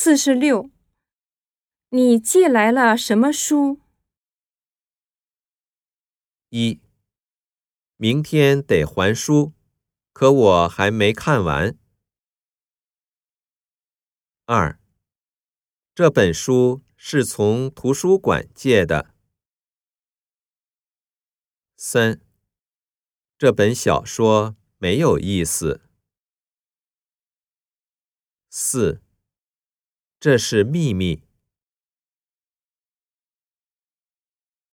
46。你寄来了什么书 ？1. 明天得还书，可我还没看完。2. 这本书是从图书馆借的。3. 这本小说没有意思。4. 这是秘密。